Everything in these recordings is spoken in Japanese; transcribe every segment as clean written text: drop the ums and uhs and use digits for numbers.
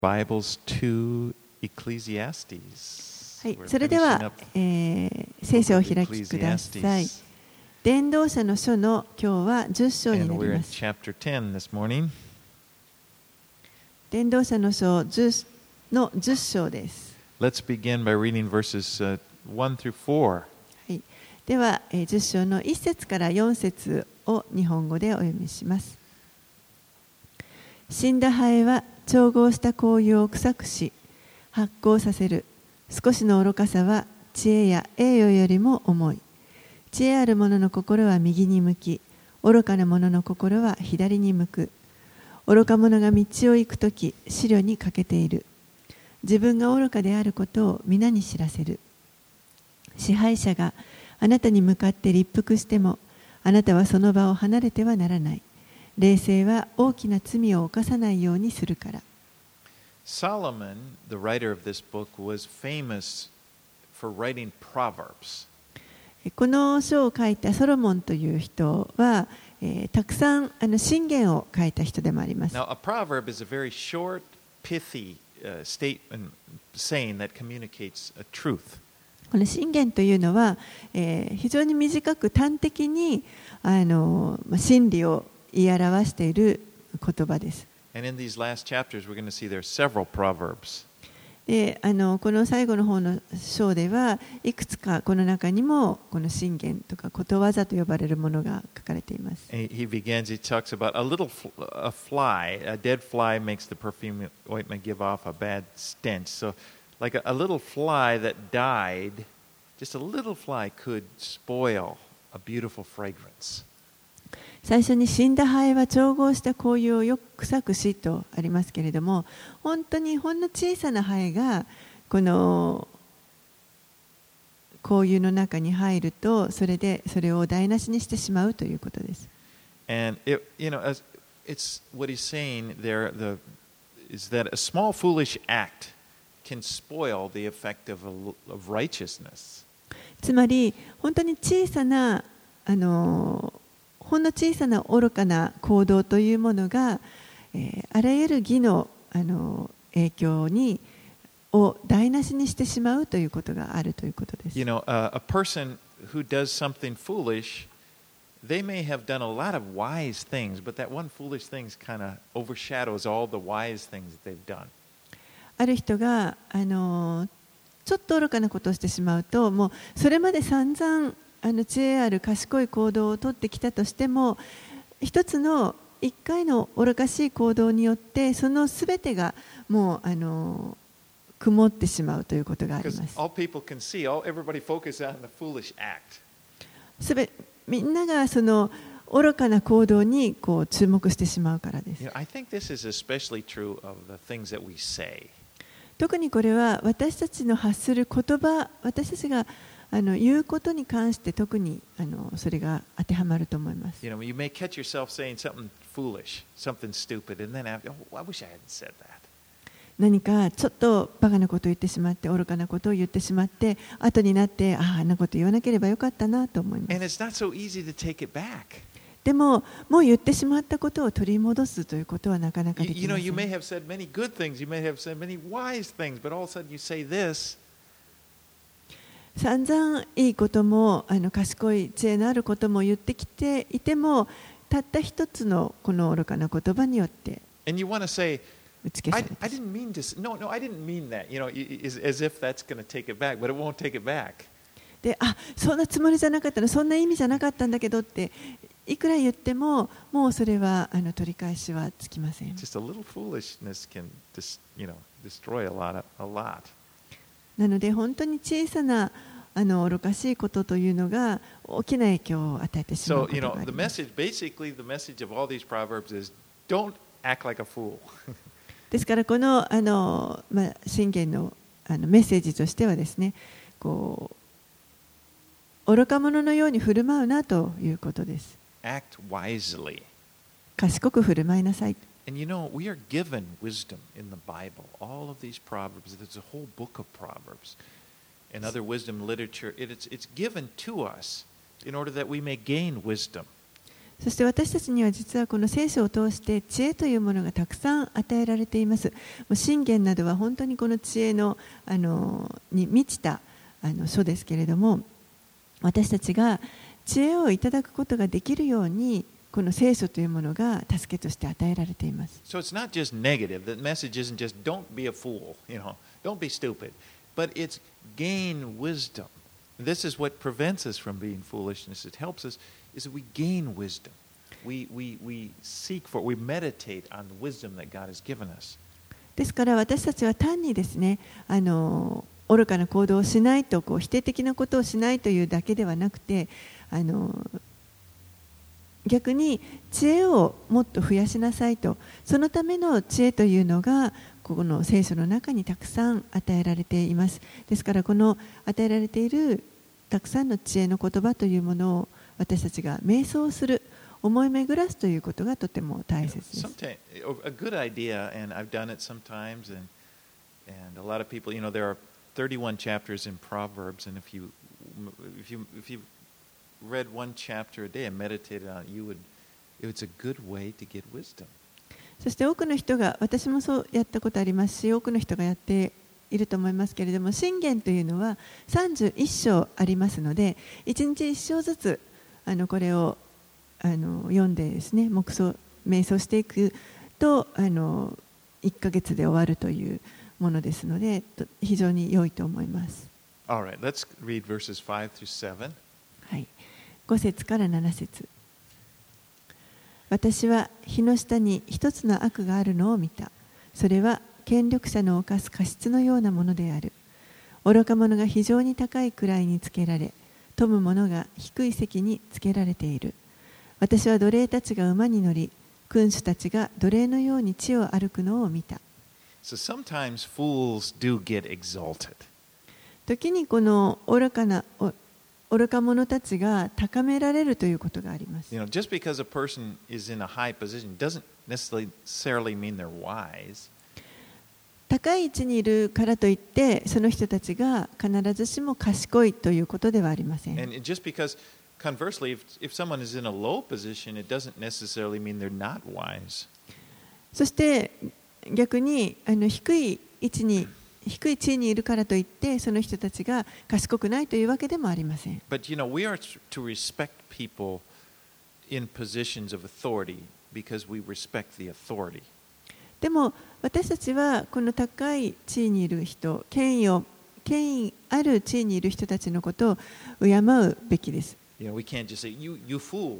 Bibles to Ecclesiastes. はい、それでは、聖書をお開きください。伝道者の書の今日は10章になります。伝道者の書10の10章です。 Let's begin by reading verses 1 through 4. はい、では、10章の1節から4節を日本語でお読みします。死んだハエは調合した香油を臭くし発酵させる。少しの愚かさは知恵や栄誉よりも重い。知恵ある者の心は右に向き、愚かな者の心は左に向く。愚か者が道を行くとき、思慮に欠けている。自分が愚かであることを皆に知らせる。支配者があなたに向かって立腹しても、あなたはその場を離れてはならない。冷静は大きな罪を犯さないようにするから。 Solomon, the writer of this book, was famous for writing proverbs. この書を書いたソロモンという人は、たくさん箴言を書いた人でもあります。 Now, a proverb is a very short, pithy statement saying that communicates a truth. この箴言というのは、非常に短く端的に真理を言い表している言葉です。 And in these last chapters, we're going to see there are several proverbs. でこの最後の方の章ではいくつかこの中にもこの箴言とかことわざと呼ばれるものが書かれています。 He talks about a fly, a dead fly makes the perfume ointment give off a bad stench. So, like a little fly that died, just a little fly could spoil a beautiful fragrance. 最初に死んだハエは調合した香油をよく臭くしとありますけれども、本当にほんの小さなハエがこの香油の中に入るとそれを台無しにしてしまうということです。 And it's what he's saying there is that a small foolish act can spoil the effect of righteousness. つまり本当に小さなほんの小さな愚かな行動というものが、あらゆる義の影響を台無しにしてしまうということがあるということです。 You know, a person who does something foolish, they may have done a lot of wise things, but that one foolish thing kind of overshadows all the wise things that they've done. ある人がちょっと愚かなことをしてしまうと、もうそれまで散々知恵ある賢い行動をとってきたとしても、一回の愚かしい行動によってそのすべてがもう曇ってしまうということがあります。みんながその愚かな行動に注目してしまうからです。特にこれは私たちの発する言葉、私たちが言うことに関して特にそれが当てはまると思います。 You may catch yourself saying something foolish, something stupid, and then after, oh, I wish I hadn't said that. 何かちょっとバカなことを言ってしまって、愚かなことを言ってしまって、後になってあんなこと言わなければよかったなと思います。 And it's not so easy to take it back. でも、もう言ってしまったことを取り戻すということはなかなかできません。 You may have said many good things, you may have said many wise things, but all of a sudden you say this. 散々いいことも賢い知恵のあることも言ってきていても、たった一つのこの愚かな言葉によって打ち消されて、 I didn't mean to. No, I didn't mean that. As if that's going to take it back, but it won't take it back. で、そんなつもりじゃなかったの、そんな意味じゃなかったんだけどっていくら言っても、もうそれは取り返しはつきません。 Just a little foolishness can destroy a lot. なので本当に小さな愚かしいことというのが大きな影響を与えてしまうことがあります。 Basically, the message of all these proverbs is don't act like a fool. ですからこの箴言のメッセージとしてはですね、愚か者のように振る舞うなということです。 Act wisely. 賢く振る舞いなさい。 And we are given wisdom in the Bible. All of these proverbs, there's a whole book of proverbs and other wisdom literature. It's given to us in order that we may gain wisdom. そして私たちには実はこの聖書を通して知恵というものがたくさん与えられています。もう箴言などは本当にこの知恵の、に満ちた書ですけれども、私たちが知恵をいただくことができるようにこの聖書というものが助けとして与えられています。 So it's not just negative. The message isn't just don't be a fool, don't be stupid, but it's gain wisdom. This is what prevents us from being foolishness. It helps us is that we gain wisdom. We seek for, we meditate on the wisdom that God has given us. ですから私たちは単にですね、愚かな行動をしないと、否定的なことをしないというだけではなくて、逆に知恵をもっと増やしなさいと、そのための知恵というのがこの聖書の中にたくさん与えられています。ですからこの与えられているたくさんの知恵の言葉というものを私たちが瞑想する、思い巡らすということがとても大切です。 A good idea, and I've done it sometimes, and a lot of people, there are 31 chapters in Proverbs, and if you read one chapter a day and meditated on it, it's a good way to get wisdom. そして多くの人が、私もそうやったことありますし、多くの人がやっていると思いますけれども、箴言というのは31章ありますので、1日1章ずつこれを読んでですね、瞑想していくと1ヶ月で終わるというものですので、非常に良いと思います。 All right, let's read verses 5 through 7. はい、5節から7節。私は日の下に一つの悪があるのを見た。それは権力者の犯す過失のようなものである。愚か者が非常に高い位につけられ、富む者が低い席につけられている。私は奴隷たちが馬に乗り、君主たちが奴隷のように地を歩くのを見た。 So sometimes fools do get exalted. 時にこの愚か者たちが高められるということがあります。 Just because a person is in a high position doesn't necessarily mean they're wise. 高い位置にいるからといって、その人たちが必ずしも賢いということではありません。 And just because, conversely, if someone is in a low position, it doesn't necessarily mean they're not wise. そして逆に低い地位にいるからといって、その人たちが賢くないというわけでもありません。 But we are to respect people in positions of authority because we respect the authority. でも私たちはこの高い地位にいる人、権威ある地位にいる人たちのことを敬うべきです。 We can't just say, you fool.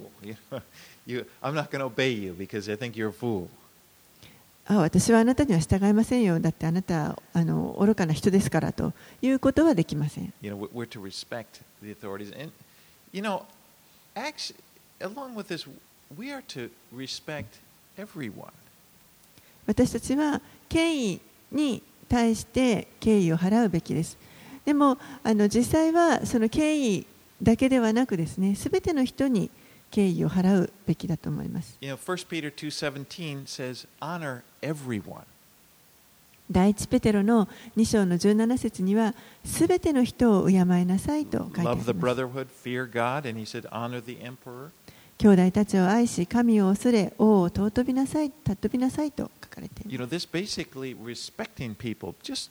I'm not going to obey you because I think you're a fool. 私はあなたには従いませんよ。だってあなたは愚かな人ですからということはできません。 We're to respect the authorities. And, actually, along with this, we are to respect everyone. 私たちは権威に対して敬意を払うべきです。でも実際はその権威だけではなくですね、すべての人に敬意を払うべきだと思います。 1 Peter 2:17 says, honor everyone. 第一ペテロの2章の17節には、すべての人を敬いなさいと書いてあります。 Love the brotherhood, fear God, and he said, honor the emperor. 兄弟たちを愛し、神を恐れ、王を尊びなさいと書かれています。 This basically respecting people just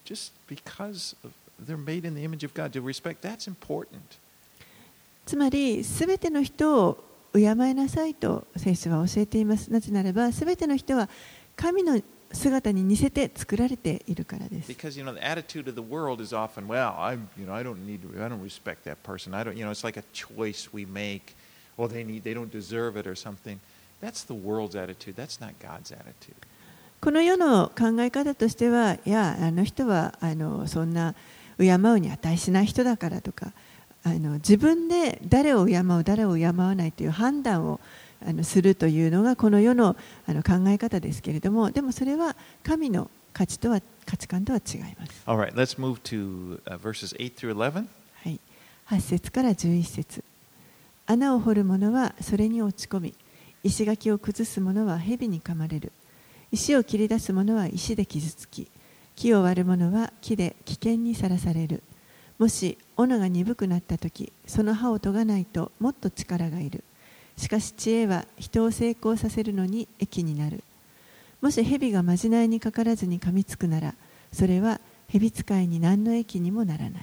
because they're made in the image of God. To respect, that's important. つまり、すべての人を敬いなさいと聖書は教えています。なぜならば、すべての人は神の姿に似せて作られているからです。 Because the attitude of the world is often, well, I don't respect that person. It's like a choice we make. Well, they don't deserve it or something. That's the world's attitude. That's not God's attitude. この世の考え方としては、いや、あの人はそんな敬うに値しない人だからとか、自分で誰を敬う、誰を敬わないという判断をするというのがこの世の考え方ですけれども、でもそれは神の価値観とは違います。 All right, let's move to verses 8 through 11. はい、8節から11節。穴を掘る者はそれに落ち込み、石垣を崩す者は蛇に噛まれる。石を切り出す者は石で傷つき、木を割る者は木で危険にさらされる。もし斧が鈍くなったとき、その刃を研がないともっと力がいる。 しかし知恵は人を成功させるのに益になる。もし蛇がまじないにかからずに噛みつくなら、それは蛇使いに何の益にもならない。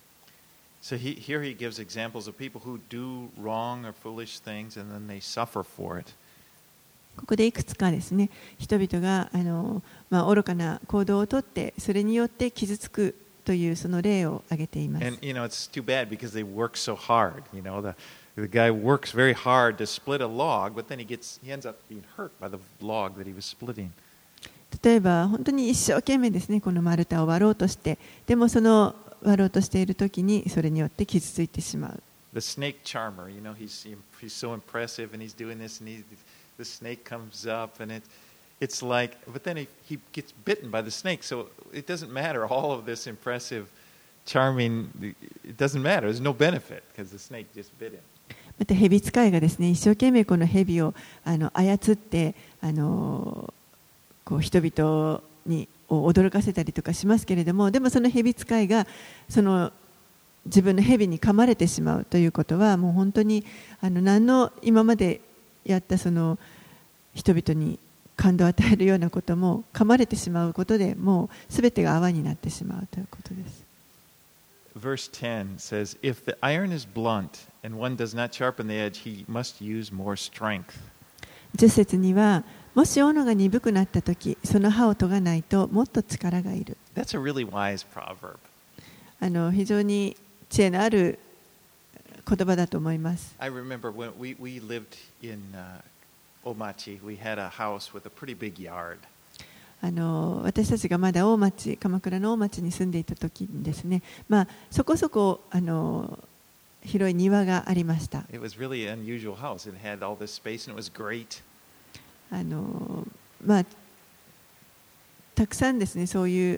So here he gives examples of people who do wrong or foolish things and then they suffer for it. ここでいくつかですね、人々が愚かな行動をとって、それによって傷つくというその例を挙げています。 And it's too bad because they work so hard. The guy works very hard to split a log, but then he ends up being hurt by the log that he was splitting. 例えば本当に一生懸命ですね、この丸太を割ろうとして、でもその割ろうとしているときにそれによって傷ついてしまう。 The snake charmer, he's so impressive and he's doing this and the snake comes up and it's like, but then he gets bitten by the snake, so it doesn't matter. All of this impressive, charming, it doesn't matter. There's no benefit because the snake just bit him. また蛇使いがですね、一生懸命この蛇を操ってこう人々に驚かせたりとかしますけれども、でもその蛇使いがその自分の蛇に噛まれてしまうということは、もう本当に何の今までやったその人々に感動を与えるようなことも噛まれてしまうことで、もうすべてが泡になってしまうということです。 Verse 10 says, If the iron is blunt and one does not sharpen the edge, he must use more strength. 10節には、もし斧が鈍くなったとき、その刃を研がないともっと力がいる。 That's a really wise proverb. 非常に知恵のある言葉だと思います。 I remember when we lived in Omachi, we had a house with a pretty big yard. 私たちがまだ鎌倉の大町に住んでいた時にですね、そこそこ広い庭がありました。 It was really an unusual house. It had all this space and it was great. たくさんですね、そういう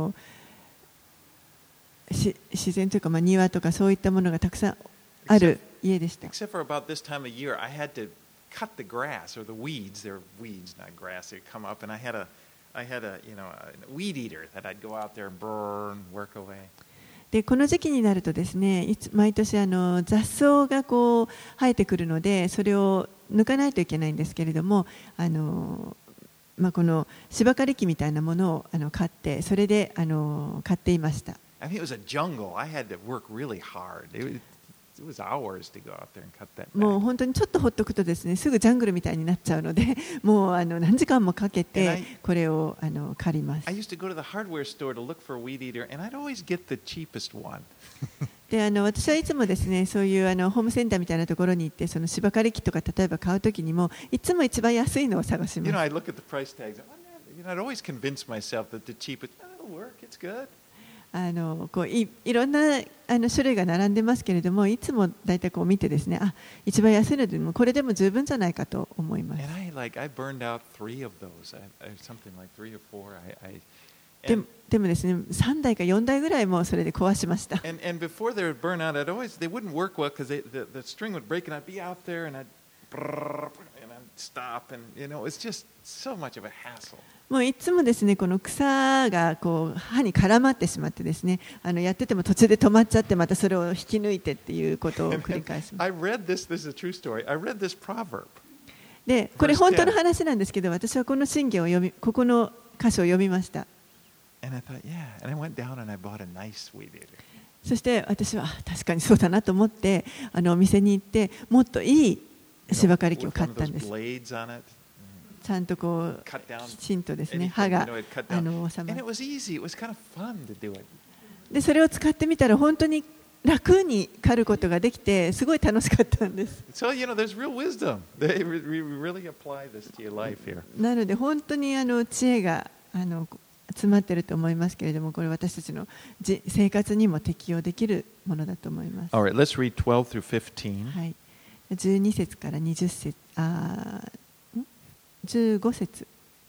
自然というか、庭とかそういったものがたくさんある家でした。 Except for about this time of year, I had to cut the grass or the weeds. They're weeds, not grass. They'd come up, and I had a weed eater that I'd go out there and burn, work away. でこの時期になるとですね、毎年雑草がこう生えてくるので、それを抜かないといけないんですけれども、この芝刈り機みたいなものを買って、それで買っていました。 I mean, it was a jungle. I had to work really hard. It was hours to go out there and cut that back. もう本当にちょっとほっとくとですね、すぐジャングルみたいになっちゃうので、もう何時間もかけてこれを刈ります。 I used to go to the hardware store to look for a weed eater, and I'd always get the cheapest one. で私はいつもですね、そういうホームセンターみたいなところに行って、その芝刈り機とか例えば買うときにも、いつも一番安いのを探します。 I'd look at the price tags. I'd always convince myself that the cheapest, it'll work, it's good. こういろんな種類が並んでますけれども、いつも大体こう見てですね、一番安いのでもこれでも十分じゃないかと思います。 And I burned out 3 of those, something like 3 or 4. でもですね、3台か4台ぐらいもそれで壊しました。 And before they would burn out, they wouldn't work well because the string would break, and I'd be out there and I'd stop, and it's just so much of a hassle. もういつもですね、この草がこう刃に絡まってしまってですね、やってても途中で止まっちゃって、またそれを引き抜いてっていうことを繰り返します。 I read this is a true story. I read this proverb. で、これ本当の話なんですけど、私はこの箴言をここの箇所を読みました。 And I thought, yeah, and I went down and I bought a nice weed eater. そして私は確かにそうだなと思って、お店に行ってもっといい芝刈り機を買ったんです。ちゃんとこうきちんとですね、刃が収まる。でそれを使ってみたら本当に楽に刈ることができて、すごい楽しかったんです。 So, there's real wisdom. They really apply this to your life here. なので本当に知恵が詰まっていると思いますけれども、これ私たちの生活にも適用できるものだと思います。 All right, let's read 12 through 15. はい、12節から20節、15節。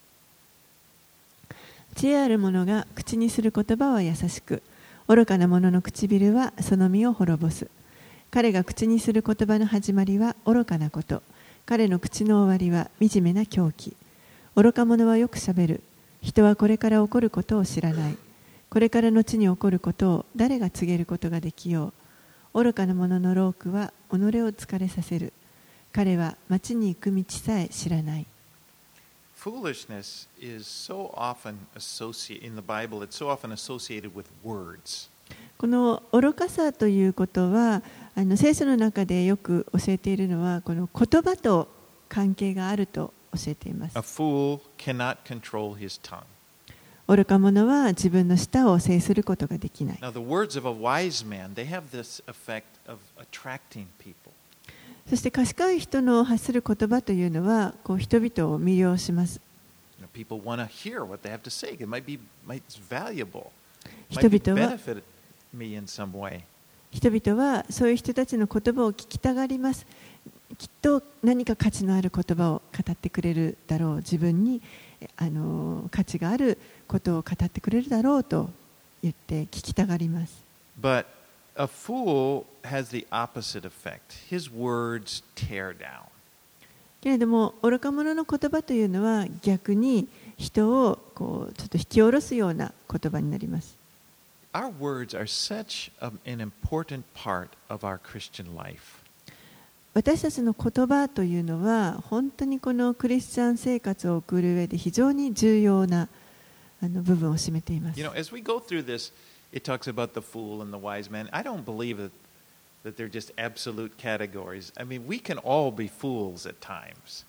知恵ある者が口にする言葉は優しく、愚かな者の唇はその身を滅ぼす。彼が口にする言葉の始まりは愚かなこと、彼の口の終わりは惨めな狂気。愚か者はよくしゃべる。人はこれから起こることを知らない。これから後に起こることを誰が告げることができよう。愚かな者の労苦は己を疲れさせる。 彼は町に行く道さえ知らない。 Foolishness is so often associated in the Bible, it's so often associated with words. この愚かさということは、聖書の中でよく教えているのは、この言葉と関係があると教えています。 A fool cannot control his tongue. 愚か者は自分の舌を制することができない。 Now, the words of a wise man, they have this effect of attracting people. そして賢い人の発する言葉というのは、こう人々を魅了します。 People want to hear what they have to say. It might be valuable. 人 Might 々は benefit me in some way. 人々はそういう人たちの言葉を聞きたがります。きっと何か価値のある言葉を語ってくれるだろう。自分に価値があることを語ってくれるだろうと言って聞きたがります。 But a fool has the opposite effect. His words tear down. けれども愚か者の言葉というのは逆に人をこうちょっと引き下ろすような言葉になります。 Our words are such an important part of our Christian life. 私たちの言葉というのは本当にこのクリスチャン生活を送る上で非常に重要な部分を占めています。 You know, as we go through this, it talks about the fool and the wise man. I don't believe that they're just absolute categories. I mean, we can all be fools at times.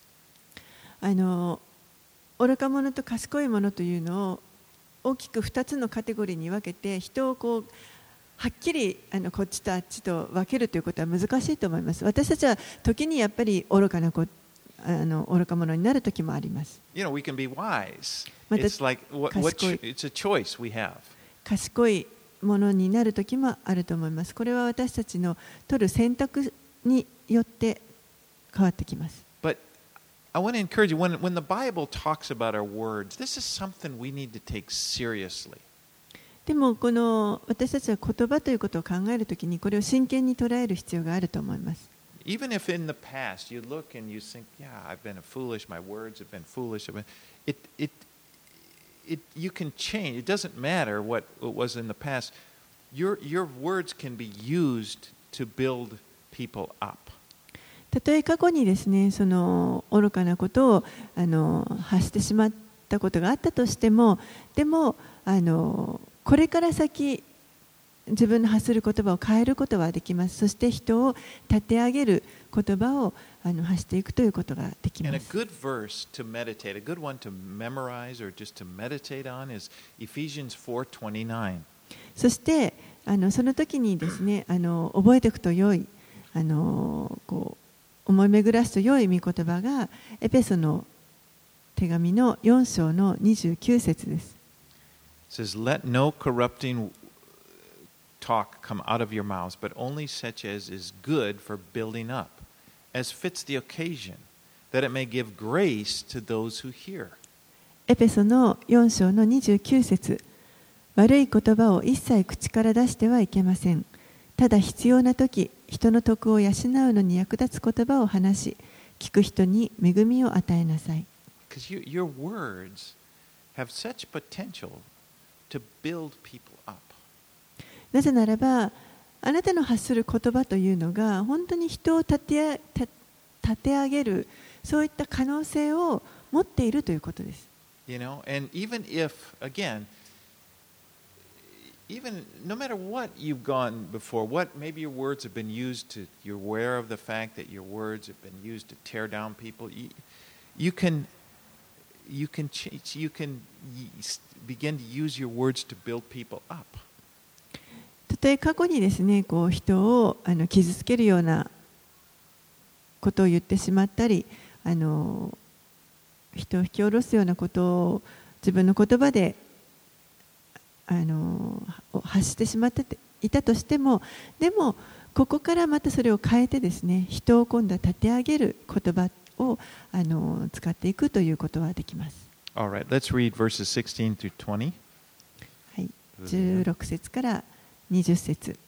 愚か者と賢い者というのを大きく2つのカテゴリーに分けて人をこうはっきりこっちとあっちと分けるということは難しいと思います。私たちは時にやっぱり愚か者になる時もあります。 You know, we can be wise. また It's like it's a choice we have. 賢いものになる時もあると思います。これは私たちの取る選択によって変わってきます。 But I want to encourage you, when the Bible talks about our words, this is something we need to take seriously. でもこの私たちは言葉ということを考えるときにこれを真剣に捉える必要があると思います。 Even if in the past you look and you think, yeah, I've been foolish, my words have been foolish, you can change. It doesn't matter what it was in the past. Your words can be used to build people up. たとえ過去にですね、その愚かなことを発してしまったことがあったとしても、でもこれから先自分の発する言葉を変えることはできます。そして人を立て上げる言葉を発していくということができま And a す。 good verse to meditate, a good one to memorize or just to meditate on is Ephesians 4:29. そしてその時にですね、覚えておくと良いこう思い巡らすと良い御言葉がエペソの手紙の4章の29節です。 It says, "Let no corrupting talk come out of your mouths, but only such as is good for building up, as fits the occasion, that it may give grace to those who hear." エペソの4章の29節、悪い言葉を一切口から出してはいけません。ただ必要な時、人の徳を養うのに役立つ言葉を話し、聞く人に恵みを与えなさい。 Because your words have such potential to build people up. なぜならば、あなたの発する言葉というのが本当に人を立て上げる、そういった可能性を持っているということです。 You know, and even if, again, even no matter what you've gone before, what maybe your words have been used to, you're aware of the fact that your words have been used to tear down people. You can change. You can begin to use your words to build people up. たとえ過去にですね、こう人を傷つけるようなことを言ってしまったり、人を引き下ろすようなことを自分の言葉で発してしまっていたとしても、でもここからまたそれを変えてですね、人を今度は立て上げる言葉を使っていくということはできます。 All right, let's read verses 16 through 20. はい、16節から20節。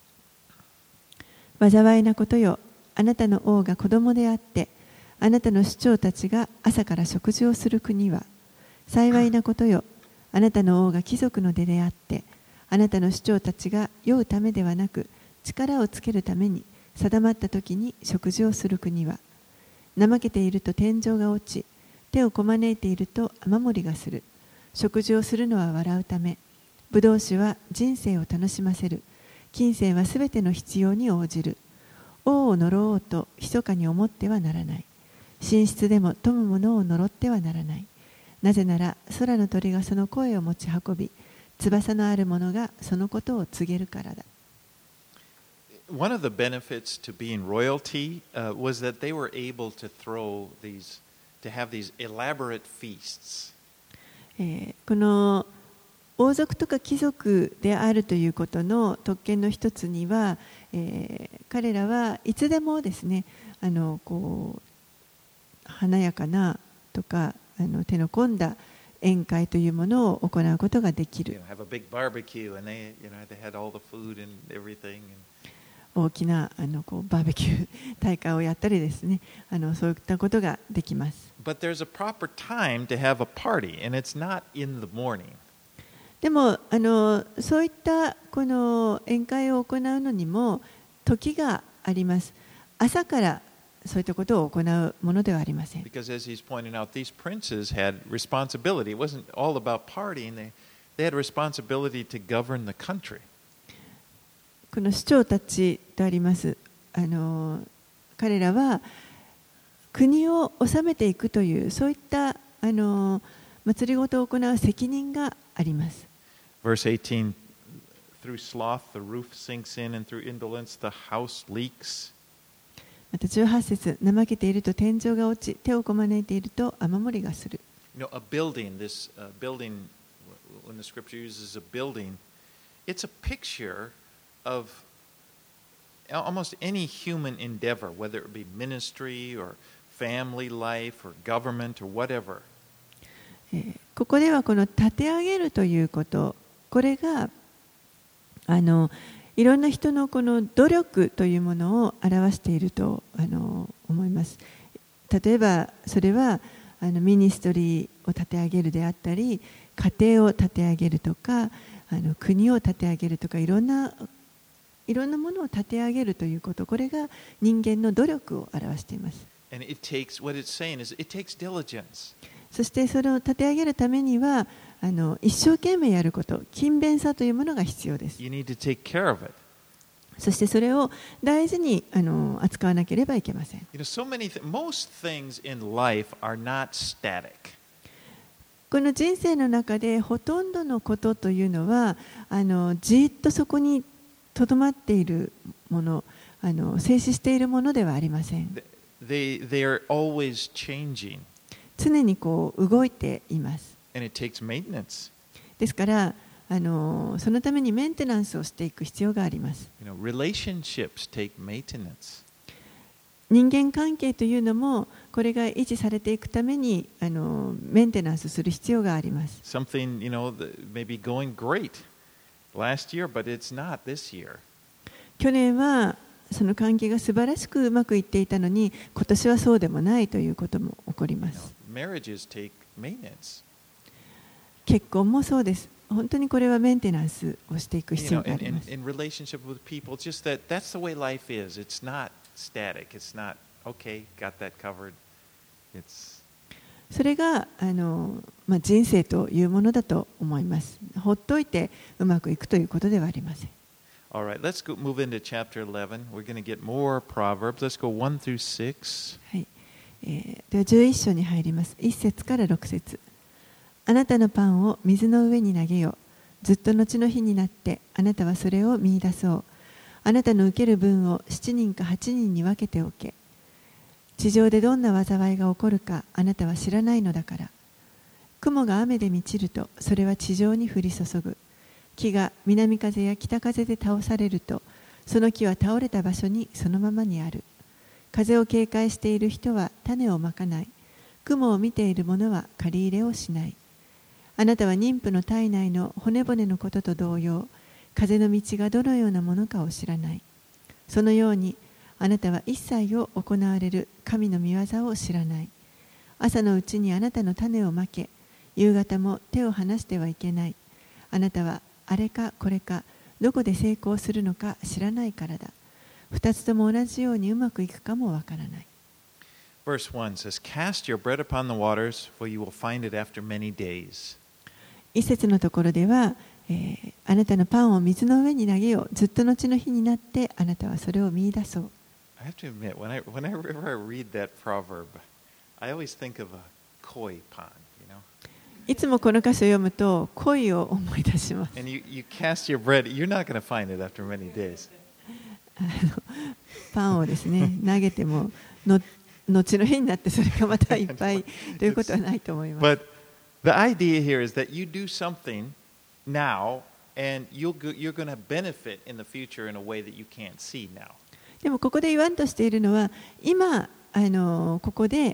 災いなことよ、あなたの王が子供であって、あなたの首長たちが朝から食事をする国は、幸いなことよ、あなたの王が貴族の出であって、あなたの首長たちが酔うためではなく、力をつけるために定まった時に食事をする国は、 怠けていると天井が落ち、手をこまねいていると雨漏りがする。食事をするのは笑うため、ブドウ酒は人生を楽しませる。金銭はすべての必要に応じる。王を呪おうと密かに思ってはならない。寝室でも富むものを呪ってはならない。なぜなら空の鳥がその声を持ち運び、翼のある者がそのことを告げるからだ。 One of the benefits to being royalty was that they were able to have these elaborate feasts. この王族とか貴族であるということの特権の一つには、彼らはいつでもですね、華やかなとか手の込んだ宴会というものを行うことができる。大きなバーベキュー大会をやったりですね、そういったことができます。 But there's a proper time to have a party, and it's not in the morning. でもそういったこの宴会を行うのにも時があります。朝からそういったことを行うものではありません。 Because as he's pointing out, these princes had responsibility. It wasn't all about partying. They had responsibility to govern the country. この首長たちとあります。彼らは国を治めていくというそういった祭りごとを行う責任があります。 Verse 18, through sloth the roof sinks in, and through indolence the house leaks. また18節、怠けていると天井が落ち、手をこまねいていると雨漏りがする。 You know, a building, building, when the scripture uses a building, it's a picture of almost any human endeavor, whether it be ministry or family life or government or whatever. ここではこの立て上げるということ、これがいろんな人のこの努力というものを表していると思います。例えばそれはミニストリーを立て上げるであったり、家庭を立て上げるとか、国を立て上げるとか、いろんなものを立て上げるということ、これが人間の努力を表しています。 And it takes, what it's saying is, it takes diligence. そしてそれを立て上げるためには一生懸命やること、勤勉さというものが必要です。 You need to take care of it. そしてそれを大事に扱わなければいけません。 You know, most things in life are not static. この人生の中でほとんどのことというのはじっとそこにとどまっているもの、静止しているものではありません。 They are always changing. 常にこう動いています。 And it takes maintenance. ですからそのためにメンテナンスをしていく必要があります。 You know, relationships take maintenance. 人間関係というのもこれが維持されていくためにメンテナンスする必要があります。 Something, you know, maybe going great last year, but it's not this year. 去年はその関係が素晴らしくうまくいっていたのに、今年はそうでもないということも起こります。 Marriages take maintenance. 結婚もそうです。本当にこれはメンテナンスをしていく必要があります。 In relationship with people, just that's the way life is. It's not static. It's not okay. Got that covered. It's それが人生というものだと思います。ほっといてうまくいくということではありません。 All right, let's move into chapter 11. We're going to get more proverbs. Let's go 1 through 6. はい。では11章に入ります。1節から6節。あなたのパンを水の上に投げよ。ずっと後の日になってあなたはそれを見出そう。あなたの受ける分を7人か8人に分けておけ。地上でどんな災いが起こるかあなたは知らないのだから。雲が雨で満ちるとそれは地上に降り注ぐ。木が南風や北風で倒されるとその木は倒れた場所にそのままにある。風を警戒している人は種をまかない。雲を見ている者は借り入れをしない。あなたは妊婦の体内の骨々のことと同様、風の道がどのようなものかを知らない。そのようにあなたは一切を行われる神の御業を知らない。朝のうちにあなたの種をまけ、夕方も手を離してはいけない。あなたはあれかこれかどこで成功するのか知らないからだ。二つとも同じようにうまくいくかもわからない。 Verse 1 says, Cast your bread upon the waters, for you will find it after many days. 一節のところでは、あなたのパンを水の上に投げよう。ずっと後の日になってあなたはそれを見出そう。 I have to admit, whenever I read that proverb, I always think of a koi pond, you know? いつもこの箇所を読むと恋を思い出します。 And you cast your bread, you're not going to find it after many days. パンをですね、投げてもの後の日になってそれがまたいっぱいということはないと思います。 But the idea here is that you do something now, and you're going to benefit in the future in a way that you can't see now. でもここで言わんとしているのは、今ここで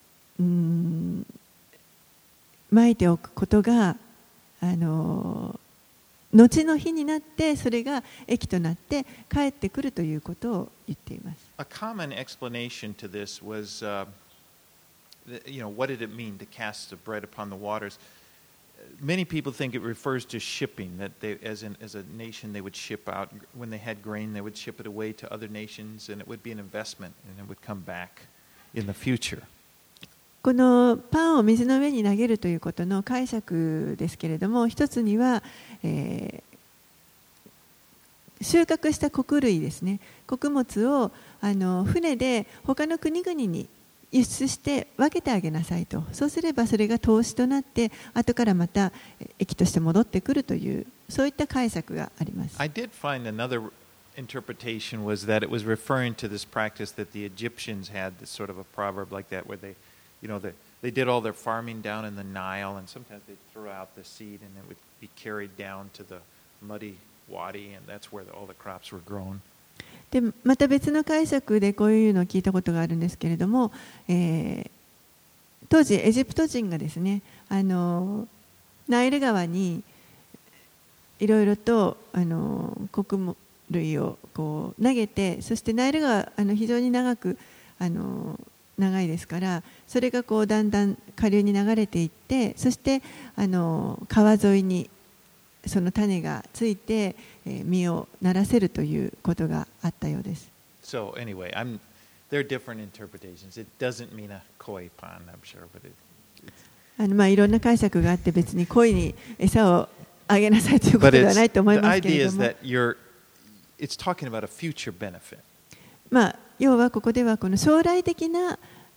まいておくことが後の日になってそれが益となって帰ってくるということを言っています。 A common explanation to this was, what did it mean to cast the bread upon the waters? Many people think it refers to shipping, that they, as a nation they would ship out. When they had grain, they would ship it away to other nations, and it would be an investment, and it would come back in the future. このパンを水の上に投げるということの解釈ですけれども、一つには、収穫した穀類ですね、穀物を船で他の国々に輸出して分けてあげなさいと。そうすればそれが投資となって後からまた益として戻ってくるという、そういった解釈があります。 I did find another interpretation was that it was referring to this practice that the Egyptians had, this sort of a proverb like that, where they did all their farming down in the Nile, and sometimes they'd throw out the seed and it would be carried down to the muddy wadi, and that's where all the crops were grown. でまた別の解釈でこういうのを聞いたことがあるんですけれども、当時エジプト人がですね、ナイル川にいろいろと穀類をこう投げて、そしてナイル川非常に長いですから、それがこうだんだん下流に流れていって、そして川沿いにその種がついて実をならせるということがあったようです。 So anyway, there are different interpretations. It doesn't mean a koi pond, I'm sure, but いろんな解釈があって、別に鯉に餌をあげなさいということではないと思いますけれども、 it's talking about a future benefit. 要はここではこの将来的な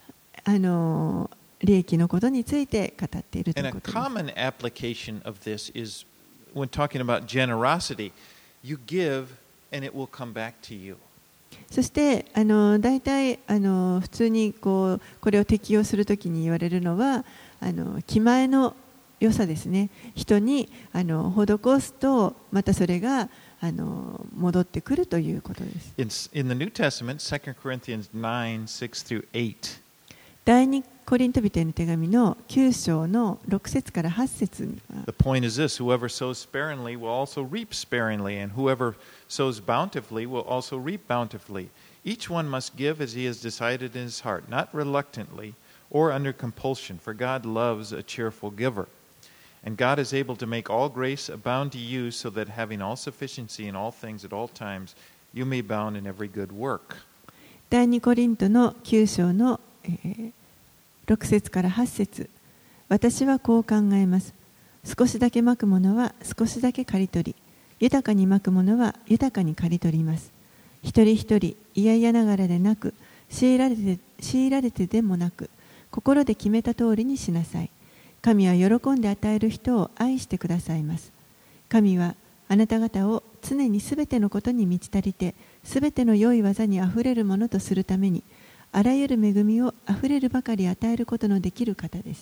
利益のことについて語っているということです。 And a common application of this is when talking about generosity, you give and it will come back to you. そして大体普通にこれを適用するときに言われるのは気前の良さですね。人に施すとまたそれが戻ってくるということです。 In the New Testament, 2 Corinthians 9, 6 through 8. 第二コリント人への手紙の9章の6節から8節には The point is this: whoever sows sparingly will also reap sparingly, and whoever sows bountifully will also reap bountifully. Each one must give as he has decided in his heart, not reluctantly or under compulsion, for God loves a cheerful giver. And God is able to make all grace abound to you, so that having all sufficiency in all things at all times, you may abound in every good work. 第二コリントの9章の6節から8節、私はこう考えます。少しだけまくものは少しだけ刈り取り、豊かにまくものは豊かに刈り取ります。一人一人嫌々ながらでなく、強いられてでもなく、心で決めた通りにしなさい。神は喜んで与える人を愛してくださいます。神はあなた方を常にすべてのことに満ち足りて、すべての良い技にあふれるものとするために、あらゆる恵みをあふれるばかり与えることのできる方です。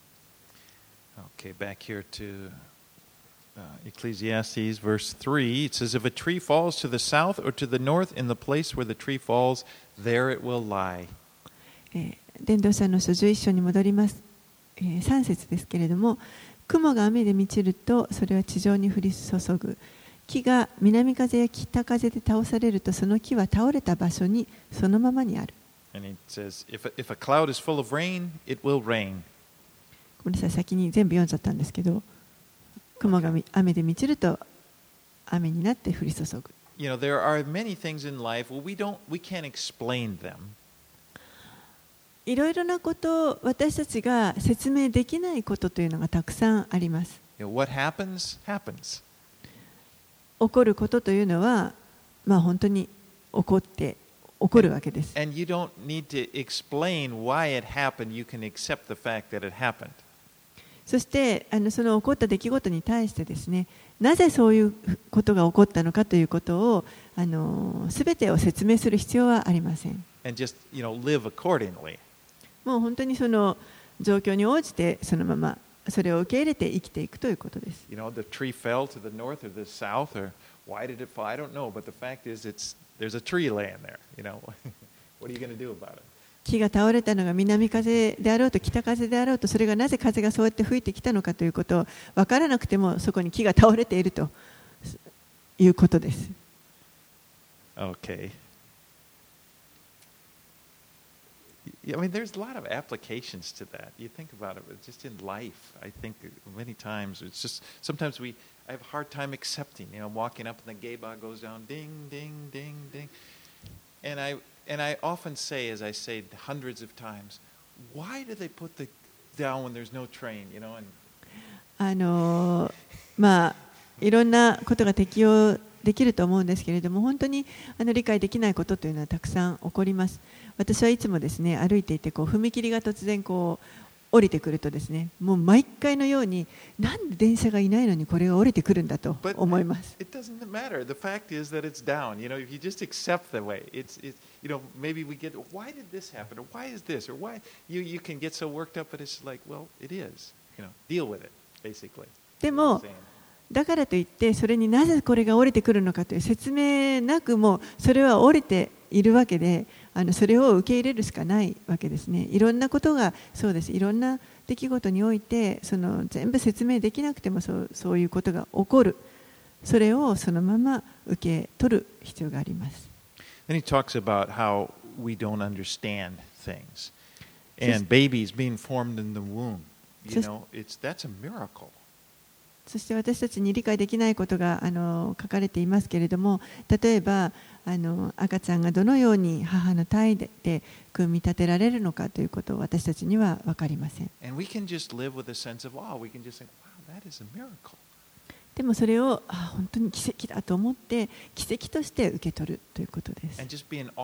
Okay, back here to Ecclesiastes, verse 3. It says, If a tree falls to the south or to the north, in the place where the tree falls, there it will lie. 伝道者の書11章に戻ります。3節ですけれども、雲が雨で満ちるとそれは地上に降り注ぐ。木が南風や北風で倒されるとその木は倒れた場所にそのままにある。 And it says, if a cloud is full of rain, it will rain. ごめんなさい、先に全部読んじゃったんですけど、雲が雨で満ちると雨になって降り注ぐ。 You know, there are many things in life where we can't explain them. いろいろなことを私たちが説明できないことというのがたくさんあります。 What happens, happens. 起こることというのは、本当に起こるわけです。 And you don't need to explain why it happened. You can accept the fact that it happened. そしてその起こった出来事に対してですね、なぜそういうことが起こったのかということをすべてを説明する必要はありません。 And just, live accordingly. もう本当にその状況に応じてそのままそれを受け入れて生きていくということです。 The tree fell to the north or the south, or why did it fall? I don't know, but the fact is, there's a tree laying there. What are you going to do about it? 木が倒れたのが南風であろうと北風であろうと、それがなぜ風がそうやって吹いてきたのかということを分からなくても、そこに木が倒れているということです。 Okay. I mean, there's a lot of applications to that. You think about it, but just in life, I think many times it's just sometimes I have a hard time accepting. Walking up and the gate bar goes down, ding, ding, ding, ding, and I often say, as I say hundreds of times, why do they put the down when there's no train? And いろんなことが適用できると思うんですけれども、本当に理解できないことというのはたくさん起こります。私はいつもですね、歩いていて踏切が突然降りてくるとですね、もう毎回のようになんで電車がいないのにこれが降りてくるんだと思います。 It doesn't matter. The fact is that it's down. If you just accept the way it's maybe we get why did this happen or why is this or why you can get so worked up, but it's like, well, it is. Deal with it basically. でもだからといってそれになぜこれが降りてくるのかという説明なくもそれは降りているわけで、それを受け入れるしかないわけですね。いろんなことがそうです。いろんな出来事において全部説明できなくてもそういうことが起こる。それをそのまま受け取る必要があります。 Then he talks about how we don't understand things and babies being formed in the womb. That's a miracle. そして私たちに理解できないことが書かれていますけれども、例えば赤ちゃんがどのように母の胎で組み立てられるのかということを私たちには分かりません。でもそれを本当に奇跡だと思って奇跡として受け取るということです。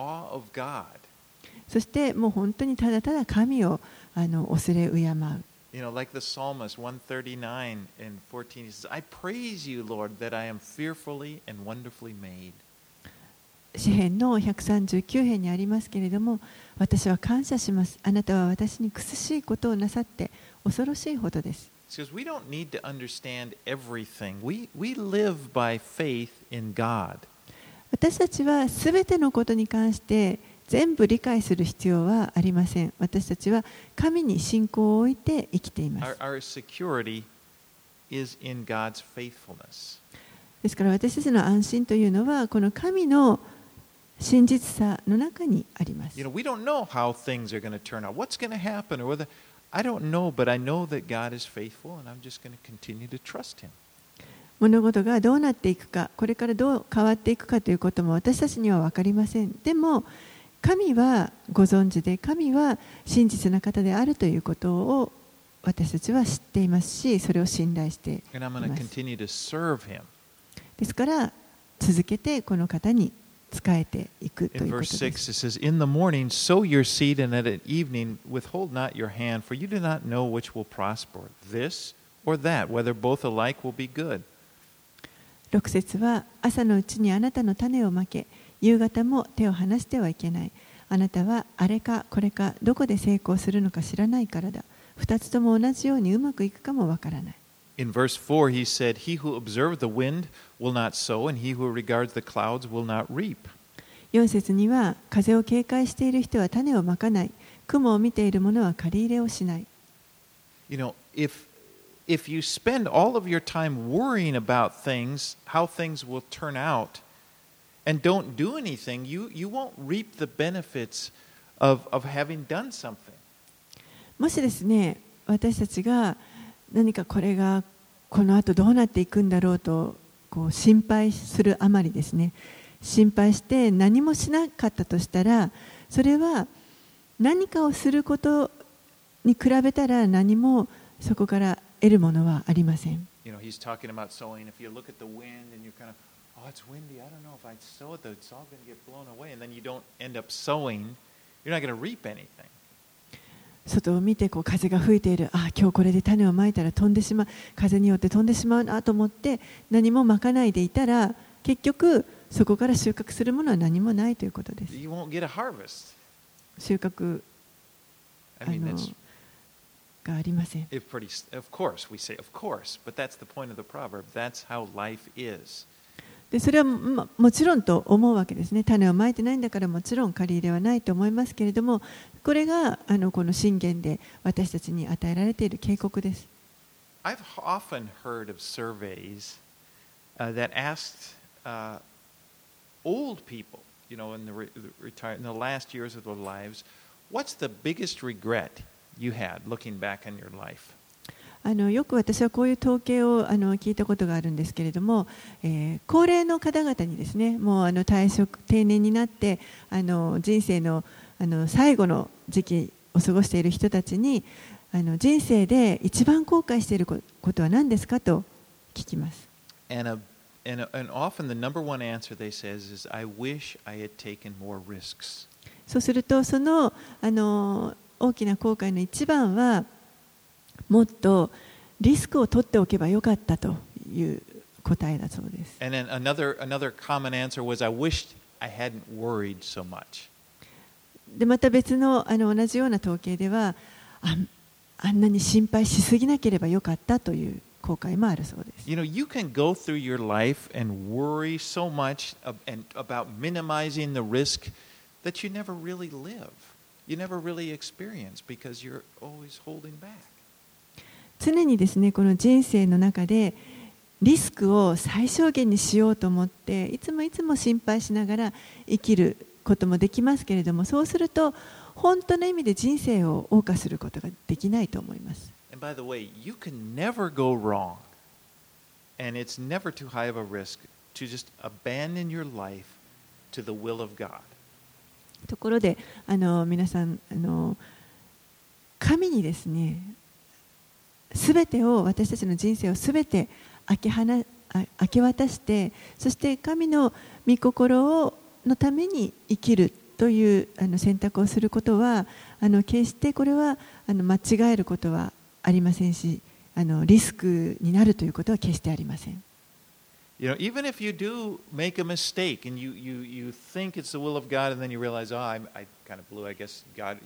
そしてもう本当にただただ神を恐れ敬う。 Like the psalmist 139 and 14, he says, I praise you, Lord, that I am fearfully and wonderfully made. 詩編の139編にありますけれども、私は感謝します。あなたは私に苦しいことをなさって恐ろしいほどです。 Because we don't need to understand everything. We live by faith in God. 私たちはすべてのことに関して全部理解する必要はありません。私たちは神に信仰を置いて生きています。 Our security is in God's faithfulness. ですから私たちの安心というのはこの神の真実さの中にあります。 We don't know how things are going to turn out. What's going to happen? Or whether I don't know, but I know that God is faithful, and I'm just going to continue to trust Him. 物事がどうなっていくか、これからどう変わっていくかということも私たちには分かりません。でも神はご存知で、神は真実な方であるということを私たちは知っていますし、それを信頼しています。ですから続けてこの方に仕えていくということです。 In verse 6 it says, In the morning sow your seed, and at evening withhold not your hand, for you do not know which will prosper, this or that, whether both alike will be good. 6節は朝のうちにあなたの種をまけ、夕方も手を離してはいけない。あなたはあれかこれかどこで成功するのか知らないからだ。二つとも同じようにうまくいくかもわからない。 In verse 4 he said, He who observes the wind will not sow, and he who regards the clouds will not reap. 4節には風を警戒している人は種をまかない。雲を見ている者は借り入れをしない。 If you spend all of your time worrying about things, how things will turn out, and don't do anything, you won't reap the benefits of having done something. もしですね、私たちが何かこれがこの後どうなっていくんだろうと心配するあまりですね、心配して何もしなかったとしたら、それは何かをすることに比べたら何もそこから得るものはありません。 He's talking about sowing. If you look at the wind and you're kind of, oh, it's windy. I don't know if I sow it, it's all going to get blown away. And then you don't end up sowing. You're not going to reap anything. 外を見て風が吹いている。あ、今日これで種をまいたら飛んでしまう。風によって飛んでしまうなと思って何もまかないでいたら、結局そこから収穫するものは何もないということです。 You won't get a harvest. 収穫がありません。 Of course, we say, of course, but that's the point of the proverb. That's how life is. でそれはもちろんと思うわけですね。種をまいてないんだからもちろん借り入れはないと思いますけれども、これがこの箴言で私たちに与えられている警告です。 I've often heard of surveys that asked old people, in the last years of their lives, what's the biggest regret you had looking back on your life? よく私はこういう統計を聞いたことがあるんですけれども、高齢の方々にですね、もう定年になって人生の最後の時期を過ごしている人たちに人生で一番後悔していることは何ですかと聞きます。 And often the number one answer they says is, I wish I had taken more risks. そうするとその大きな後悔の一番はもっとリスクを取っておけばよかったという答えだそうです。 And then another common answer was, I wished I hadn't worried so much. でまた別の同じような統計ではあんなに心配しすぎなければよかったという後悔もあるそうです。 You can go through your life and worry so much about minimizing the risk that you never really live. You never really experience because you're always holding back. 常にですね、この人生の中でリスクを最小限にしようと思っていつも心配しながら生きることもできますけれども、そうすると本当の意味で人生を謳歌することができないと思います。 And by the way, you can never go wrong, and it's never too high of a risk to just abandon your life to the will of God. ところで皆さん神にですね、すべてを私たちの人生をすべて明け渡して、そして神の御心のために生きるという選択をすることは決してこれは間違えることはありませんし、リスクになるということは決してありません。 Even if you do make a mistake and you think it's the will of God and then you realize, oh, I kind of blew, I guess God,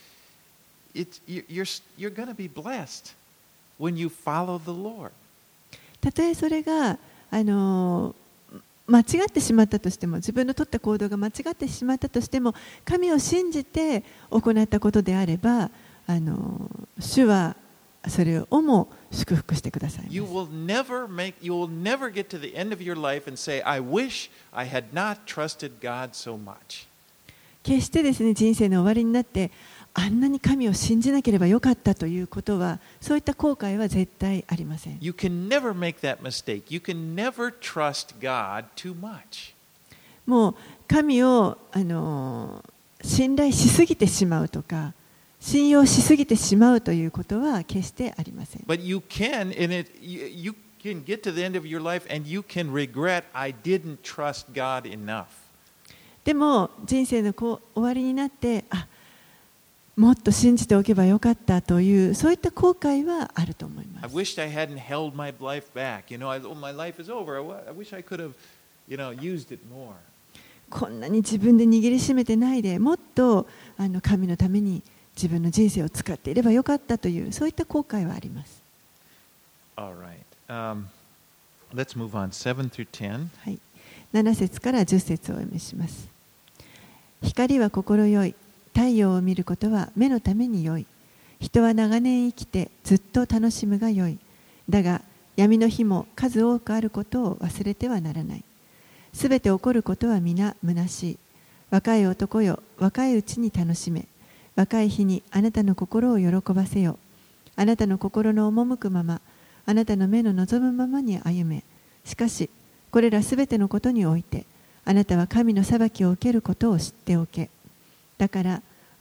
you're going to be blessed when you follow the Lord. たとえそれが間違ってしまったとしても、自分の取った行動が間違ってしまったとしても、神を信じて行ったことであれば、主はそれをも祝福してくださいます。 You will never get to the end of your life and say, I wish I had not trusted God so much. 決してですね、人生の終わりになってあんなに神を信じなければよかったということは、そういった後悔は絶対ありません。 You can never make that mistake. You can never trust God too much. もう神を信頼しすぎてしまうとか、信用しすぎてしまうということは決してありません。 But you can get to the end of your life and you can regret, I didn't trust God enough. でも人生の終わりになって、もっと信じておけばよかったというそういった後悔はあると思います。 I wished I hadn't held my life back. My life is over. I wish I could have, used it more. こんなに自分で握りしめてないで、もっと神のために自分の人生を使っていればよかったというそういった後悔はあります。 All right. Let's move on. 7 through 10. はい。7節から10節をお読みします。光は心よい。太陽を見ることは目のために良い。人は長年生きてずっと楽しむが良い。だが闇の日も数多くあることを忘れてはならない。すべて起こることは皆虚しい。若い男よ、若いうちに楽しめ。若い日にあなたの心を喜ばせよ。あなたの心の赴くまま、あなたの目の望むままに歩め。しかし、これらすべてのことにおいて、あなたは神の裁きを受けることを知っておけ。だから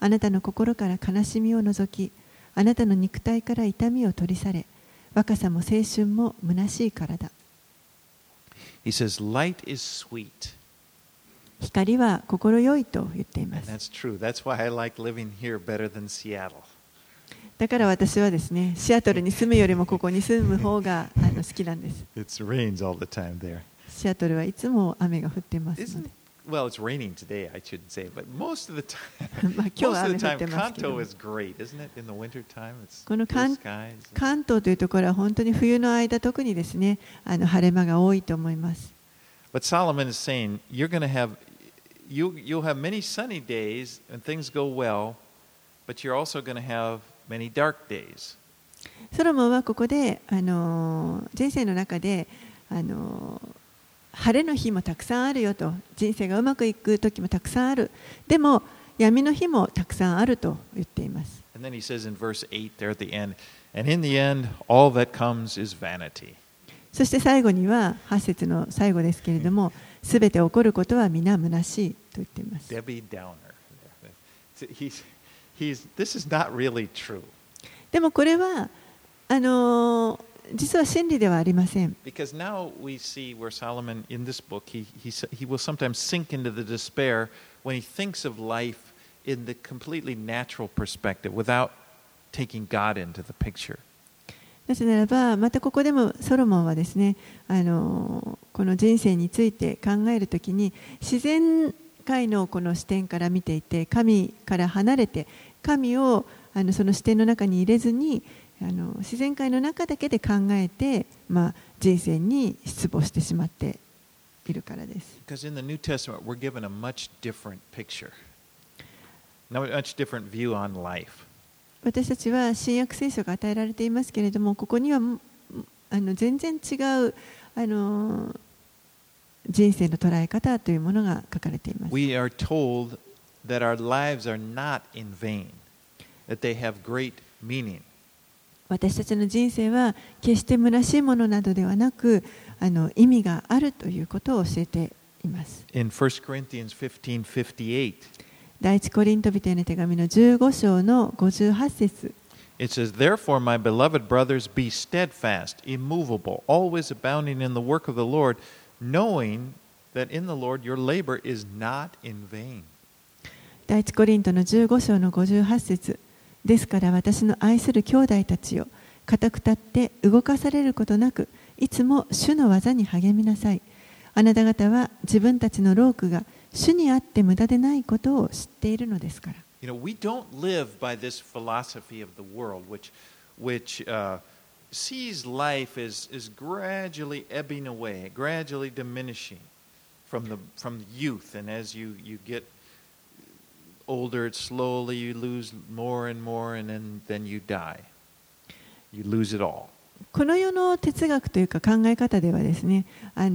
あなたの心から悲しみを除き、あなたの肉体から痛みを取り去れ、若さも青春も虚しいからだ。 He says, light is sweet. 光は心よいと言っていま And す。 that's true. That's why I like living here better than Seattle. だから私はですね、シアトルに住むよりもここに住む方が好きなんです。 It rains all the time there. シアトルはいつも雨が降っていますの Isn't で。 well, it's raining today, I shouldn't say, but most of the time, まあ今日は most of 雨 the 降っ time, てますけど Kanto も、 is great, isn't it? In the winter time, it's この blue skies. 関東というところは本当に冬の間特にですね、晴れ間が多いと思います。 But Solomon is saying, you're going to have, you'll have many sunny days and things go well, but you're also going to have many dark days. ソロモンはここで、人生の中で、晴れの日もたくさんあるよと、人生がうまくいく時もたくさんある。でも闇の日もたくさんあると言っています。 And then he says in verse 8 there at the end, and in the end, all that comes is vanity. そして最後には8節の最後ですけれども、すべて起こることは皆虚しいと言っています。 Debbie Downer. This is not really true. でもこれは実は真理ではありません。 Because now we see where Solomon, in this book, he will sometimes sink into the despair when he thinks of life in the completely natural perspective without taking God into the picture. なぜならば、またここでもソロモンはですね、この人生について考えるときに、自然界のこの視点から見ていて、神から離れて、神をその視点の中に入れずに、自然界の中だけで考えて、人生に失望してしまっているからです。 Because in the New Testament, we're given a much different picture, a much different view on life. 私たちは新約聖書が与えられていますけれども、ここには全然違う人生の捉え方というものが書かれています。 We are told that our lives are not in vain, that they have great meaning. 私たちの人生は決して虚しいものなどではなく、意味があるということを教えています。 In 1 Corinthians 15:58, 第一コリント人への手紙の15章の58節。 it says, Therefore, my beloved brothers, be steadfast, immovable, always abounding in the work of the Lord, knowing that in the Lord your labor is not in vain. 第一コリントの15章の58節。ですから私の愛する兄弟たちよ、固く立って動かされることなく、いつも主の技に励みなさい。あなた方は自分たちの労苦が主にあって無駄でないことを知っているのですから。 We don't live by this philosophy of the world, which sees life as gradually ebbing away, gradually diminishing from youth, and as you get older, slowly you lose more and more, and then you die. You lose it all. この世の哲学というか考え方ではですね、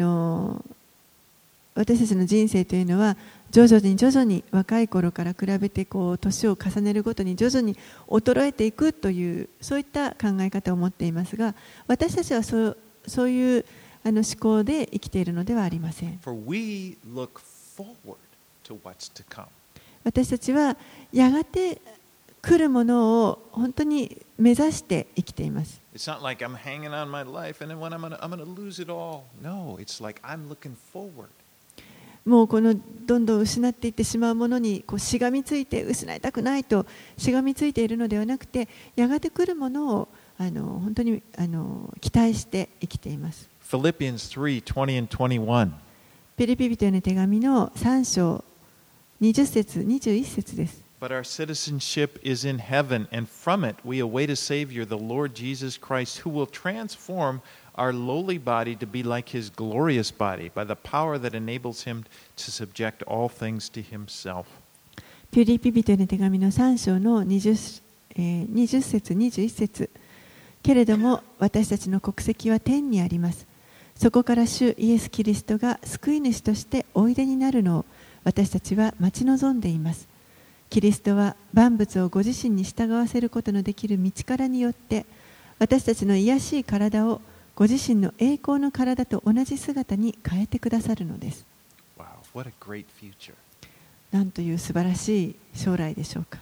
私たちの人生というのは徐々に若い頃から比べて年を重ねるごとに徐々に衰えていくというそういった考え方を持っていますが、私たちはそういう思考で生きているのではありません。 For we look forward to what's to come. 私たちはやがて来るものを本当に目指して生きています。 It's not like I'm hanging on my life and then when I'm going to lose it all. No, it's like I'm looking forward. もうこのどんどん失っていってしまうものにしがみついて失いたくないとしがみついているのではなくて、やがて来るものを本当に期待して生きています。 Philippians 3:20 and 21. ピリピ人への手紙の3章20節21節です。 But our citizenship is in heaven, and from it we await a Savior, the Lord Jesus Christ, who will transform our lowly body to be like His glorious body, by the power that enables Him to subject all things to Himself. ピリピ人への手紙の3章の20節21節。けれども私たちの国籍は天にあります。そこから主イエス・キリストが救い主としておいでになるのを私たちは待ち望んでいます。キリストは万物をご自身に従わせることのできる道からによって私たちの卑しい体をご自身の栄光の体と同じ姿に変えてくださるのです。 Wow, what a great future. なんという素晴らしい将来でしょうか。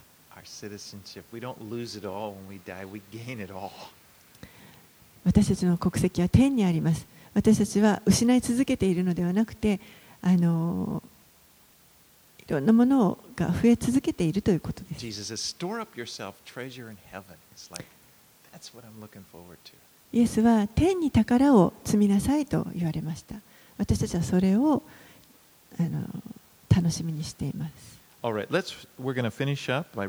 citizenship. We don't lose it all when we die, we gain it all. 私たちの国籍は天にあります。私たちは失い続けているのではなくて、いろんなものが増え続けているということです。 Jesus says, store up yourself treasure in heaven. It's like, that's what I'm looking forward to. イエスは天に宝を積みなさいと言われました。私たちはそれを楽しみにしています。 All right, we're going to finish up by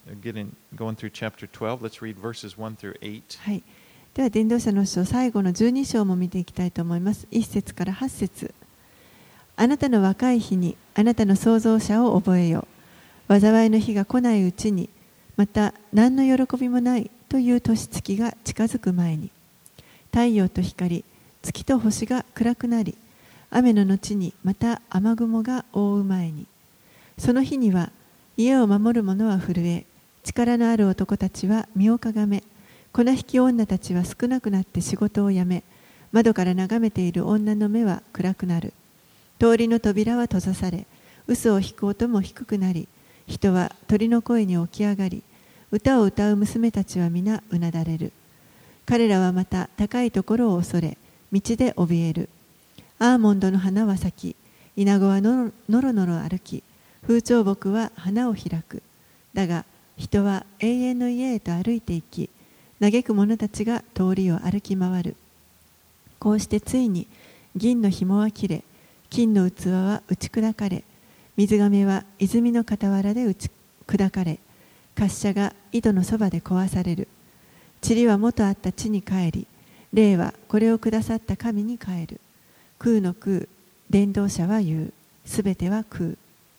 going through chapter 12. Let's read verses 1 through 8. はい。では伝道者の書最後の12章も見ていきたいと思います。1節から8節。あなたの若い日にあなたの創造者を覚えよ。災いの日が来ないうちに、また何の喜びもないという年月が近づく前に、太陽と光、月と星が暗くなり、雨の後にまた雨雲が覆う前に、その日には家を守る者は震え、力のある男たちは身をかがめ、粉引き女たちは少なくなって仕事を辞め、窓から眺めている女の目は暗くなる。通りの扉は閉ざされ、嘘を引く音も低くなり、人は鳥の声に起き上がり、歌を歌う娘たちは皆うなだれる。彼らはまた高いところを恐れ、道で怯える。アーモンドの花は咲き、イナゴはのろのろ歩き、風潮木は花を開く。だが人は永遠の家へと歩いていき、嘆く者たちが通りを歩き回る。こうしてついに銀の紐は切れ、金の器は打ち砕かれ、水亀は泉の傍らで砕かれ、滑車が井戸のそばで壊される。塵は元あった地に帰り、霊はこれをくださった神に帰る。空の空、伝道者は言う。すべては空。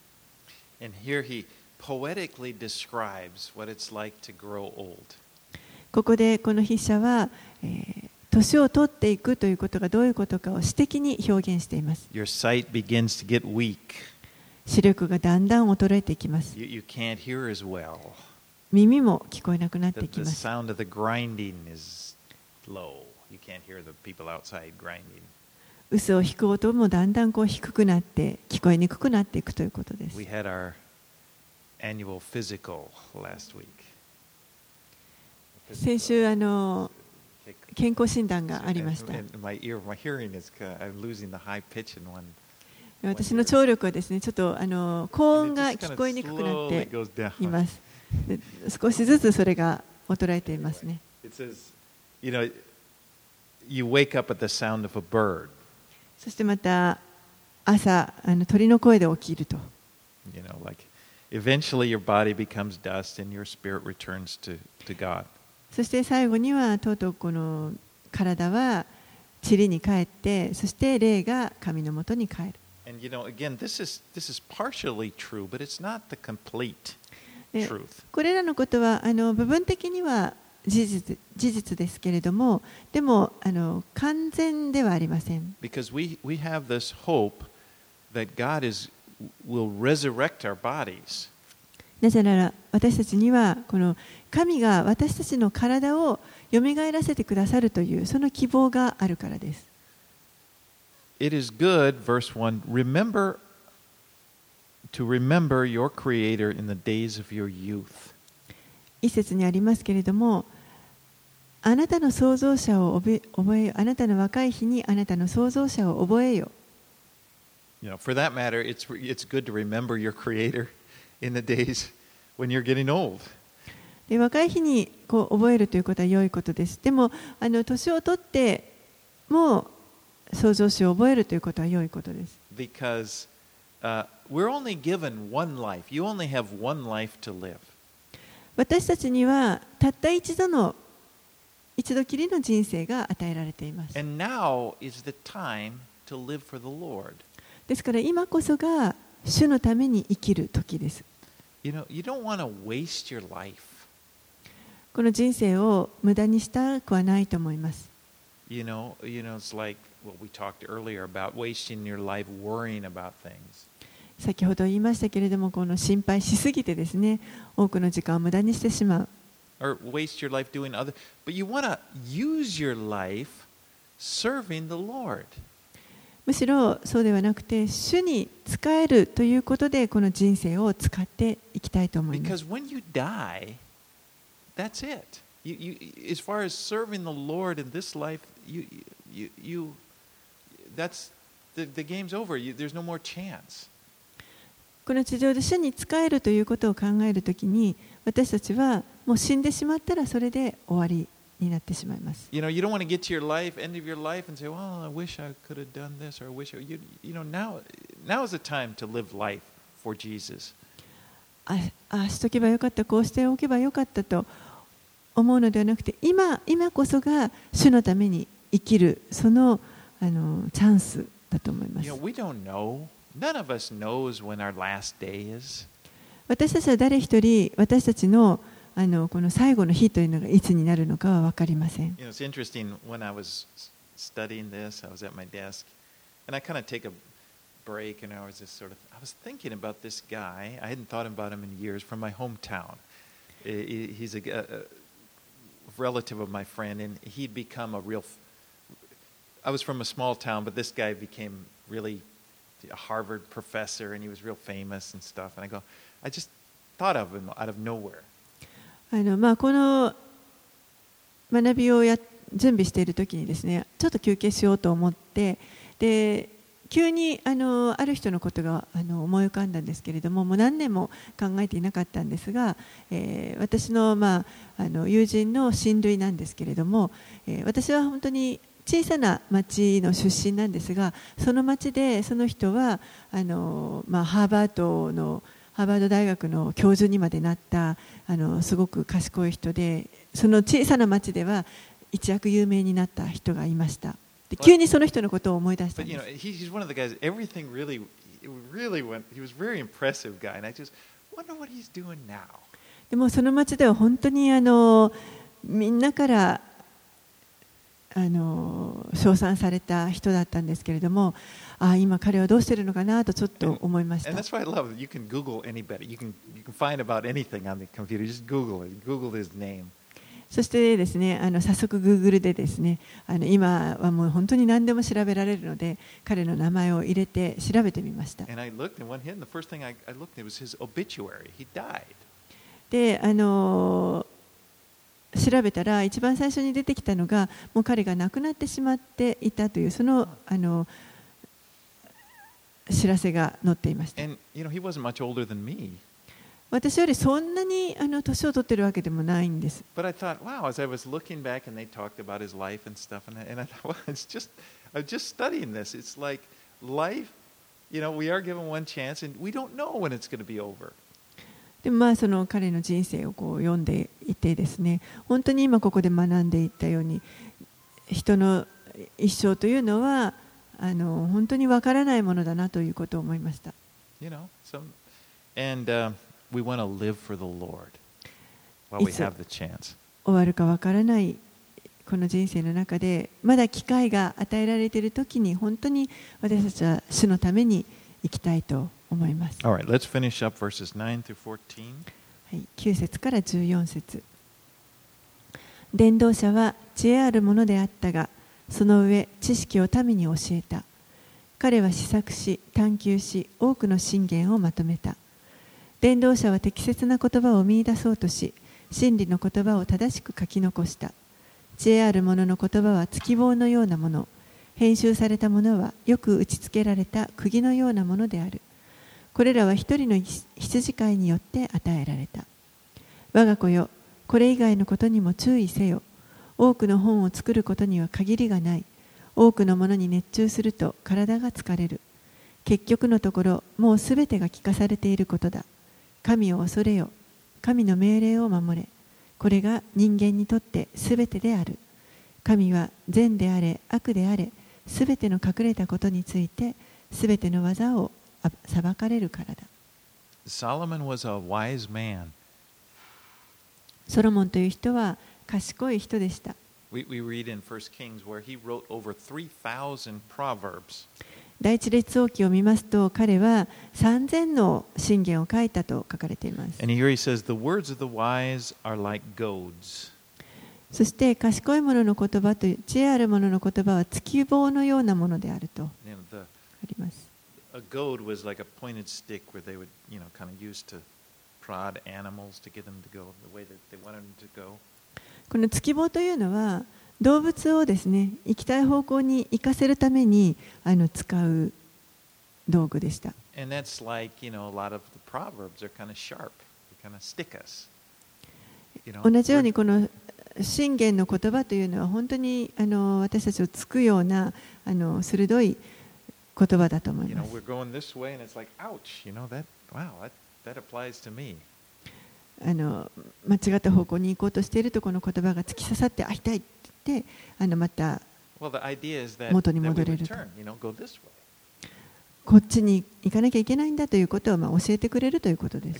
And here he poetically describes what it's like to grow old. ここでこの筆者は、年を取っていくということがどういうことかを詩的に表現しています。 Your sight begins to get weak. 視力がだんだん衰えていきます。 You can't hear as well. 耳も聞こえなくなっていき The ます。 sound of the grinding is low. You can't hear the people outside grinding. 嘘を引く音もだんだん低くなって聞こえにくくなっていくということです。 We had our annual physical last week. 先週健康診断がありました。 My hearing is I'm losing the high pitch in one. 私の聴力はですね、ちょっと高音が聞こえにくくなっています。で少しずつそれが衰えていますね。 It says, you wake up at the sound of a bird. そしてまた朝鳥の声で起きると。 Like eventually your body becomes dust and your spirit returns to God. そして最後にはとうとうこの体は塵に帰って、そして霊が神のもとに帰る。 And again, this is partially true, but it's not the complete truth. これらのことは部分的には事実ですけれども、でも完全ではありません。 Because we have this hope that God will resurrect our bodies. なぜなら私たちにはこの神が私たちの体をよみがえらせてくださるというその希望があるからです。 It is good, verse 1, to remember your Creator in the days of your youth. 一節にありますけれども、あなたの創造者を覚えよ。あなたの若い日にあなたの創造者を覚えよ。 For that matter, it's good to remember your Creator in the days when you're getting old. で若い日に覚えるということは良いことです。でも年を取っても創造主を覚えるということは良いことです。 Because we're only given one life. You only have one life to live. 私たちにはたった一度きりの人生が与えられています。 And now is the time to live for the Lord. ですから今こそが主のために生きる時です。 You don't want to waste your life. この人生を無駄にしたくはないと思います。 It's like what we talked earlier about wasting your life worrying about things. 先ほど言いましたけれども、この心配しすぎてですね、多くの時間を無駄にしてしまう。 Or waste your life doing but you want to use your life serving the Lord. むしろそうではなくて、主に仕えるということでこの人生を使っていきたいと思います。 Because when you die, that's it. As far as serving the Lord in this life, that's the game's over. There's no more chance. この地上で主に仕えるということを考えるときに、私たちはもう死んでしまったらそれで終わりになってしまいます。 You don't want to get to your life, end of your life, and say, "Well, I wish I could have done this, or I wish now is the time to live life for Jesus." あしとけばよかった、こうしておけばよかったと思うのではなくて、今こそが主のために生きるそのチャンスだと思います。 We don't know. None of us knows when our last day is. 私たちは誰一人、私たちのこの最後の日というのがいつになるのかは分かりません。 It's interesting when I was studying this, I was at my desk, and I kind of take a break, and I was thinking about this guy. I hadn't thought about him in years from my hometown. He's a relative of my friend, and he'd become a real. I was from a small town, but this guy became really a Harvard professor, and he was real famous and stuff. And I just thought of him out of nowhere. この学びを準備しているときにですね、ちょっと休憩しようと思って、で急にある人のことが思い浮かんだんですけれども、もう何年も考えていなかったんですが、私の、友人の親類なんですけれども、私は本当に小さな町の出身なんですが、その町でその人はハーバード大学の教授にまでなったすごく賢い人で、その小さな町では一躍有名になった人がいました。で急にその人のことを思い出したんです。 He's one of the guys. Everything really went. He was a very impressive guy, and I just wonder what he's doing now. でもその町では本当にみんなから称賛された人だったんですけれども、今彼はどうしているのかなとちょっと思いました。 And that's why I love it. You can Google anybody. You can find about anything on the computer. Just Google it. Google his name. そしてですね、早速 Google でですね、今はもう本当に何でも調べられるので、彼の名前を入れて調べてみました。 And I looked, and one hit, and the first thing I looked at was his obituary. He died. で、調べたら一番最初に出てきたのが、もう彼が亡くなってしまっていたというその知らせが載っていました。 And he wasn't much older than me. 私よりそんなに年を取っているわけでもないんです。 But I thought, wow, as I was looking back and they talked about his life and stuff, and I thought, well, I'm just studying this. It's like life, we are given one chance, and we don't know when it's going to be over. でもその彼の人生を読んでいてですね、本当に今ここで学んでいったように、人の一生というのは本当にわからないものだなということを思いました。 And we want to live for the Lord while we have the chance. 終わるかわからないこの人生の中で、まだ機会が与えられているときに、本当に私たちは主のために生きたいと思います。 All right, let's finish up verses 9 through 14. はい、9節から14節。伝道者は知恵あるものであったが、その上知識を民に教えた。彼は思索し、探求し、多くの箴言をまとめた。伝道者は適切な言葉を見出そうとし、真理の言葉を正しく書き残した。知恵ある者の言葉は月棒のようなもの、編集されたものはよく打ち付けられた釘のようなものである。これらは一人の羊飼いによって与えられた。我が子よ、これ以外のことにも注意せよ。多くの本を作ることには限りがない。多くのものに熱中すると体が疲れる。結局のところ、もうすべてが聞かされていることだ。神を恐れよ。神の命令を守れ。これが人間にとってすべてである。神は善であれ、悪であれ、すべての隠れたことについて、すべての技を裁かれるからだ。 Solomon was a wise man. ソロモンという人は賢い人でした。 We read in 1 Kings where he wrote over 3,000 proverbs. 第一列王記を見ますと、彼は3000の箴言を書いたと書かれています。 And here he says, the words of the wise are like goads. そして賢い者の言葉と知恵ある者の言葉は月棒のようなものであると。 The goad was like a pointed stick where they would, kind of use to prod animals to get them to go the way that they wanted them to go. この突き棒というのは動物をですね、行きたい方向に行かせるために使う道具でした。 And that's like, a lot of the proverbs are kind of sharp. They kind of stick us. 同じようにこの箴言の言葉というのは本当に私たちをつくような鋭い言葉だと思います。 We're going this way and it's like, ouch, that applies to me. 間違った方向に行こうとしているとこの言葉が突き刺さって痛いって言ってまた元に戻れると。こっちに行かなきゃいけないんだということを教えてくれるということです。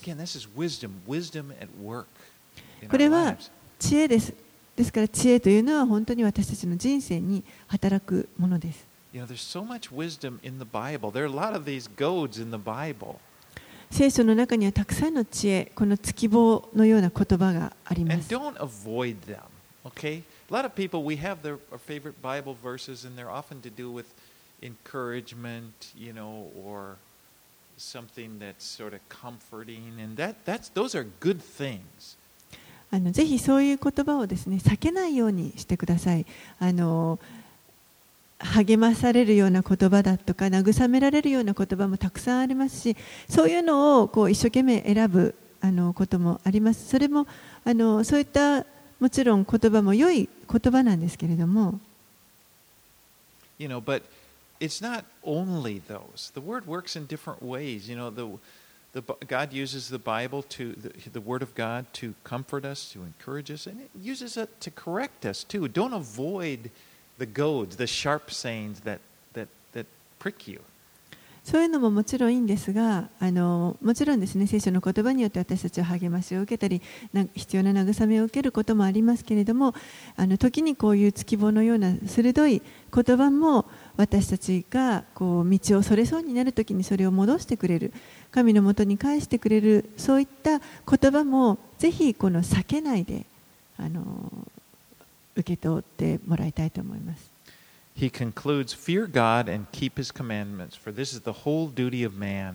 これは知恵です。ですから知恵というのは本当に私たちの人生に働くものです。聖書の中にはたくさんの知恵、この突き棒のような言葉があります。 And don't avoid them, okay? A lot of people, we have their favorite Bible verses, and they're often to do with encouragement, or something that's sort of comforting, and those are good things. ぜひそういう言葉をですね、避けないようにしてください。励まされるような言葉だとか慰められるような言葉もたくさんありますし、そういうのを一生懸命選ぶこともあります。それもそういったもちろん言葉も良い言葉なんですけれども。 But it's not only those. The word works in different ways. God uses the Bible the Word of God to comfort us, to encourage us, and it uses it to correct us too. Don't avoid the goads, the sharp sayings that prick you. そういうのももちろんいいんですが、もちろんですね、聖書の言葉によって私たちは励ましを受けたり、必要な慰めを受けることもありますけれども、時にこういう突き棒のような鋭い言葉も私たちが道をそれそうになるときにそれを戻してくれる、神のもとに返してくれる、そういった言葉もぜひ避けないで受け取ってもらいたいと思います。 He concludes, "Fear God and keep His commandments, for this is the whole duty of man."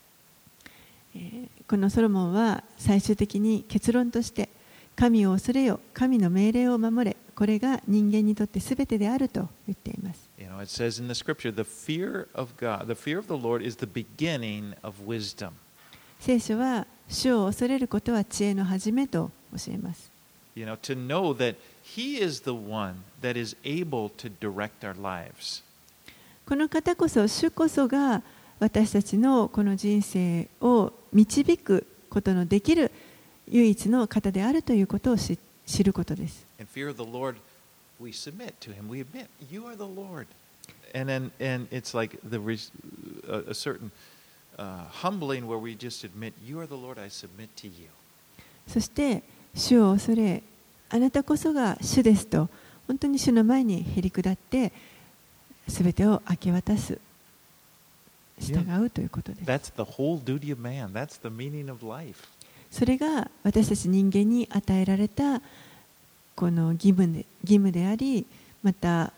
このソロモンは最終的に結論として神を恐れよ、神の命令を守れ、これが人間にとってすべてであると言っています。 It says in the scripture, the fear of God, the fear of the Lord is the beginning of wisdom. 聖書は主を恐れることは知恵の始めと教えます。 To know that He is the one that is able to direct our lives. この方こそ、主こそが私たちのこの人生を導くことのできる唯一の方であるということを知ることです。 In fear of the Lord, we submit to Him. We admit, You are the Lord. And it's like a certain humbling where we just admit, You are the Lord, I submit to You. そして主を恐れ、あなたこそが主ですと、本当に主の前にへり下ってすべてを明け渡す、従うということです。 That's the whole duty of man. That's the meaning of life. それが私たち人間に与えられたこの義務であり、また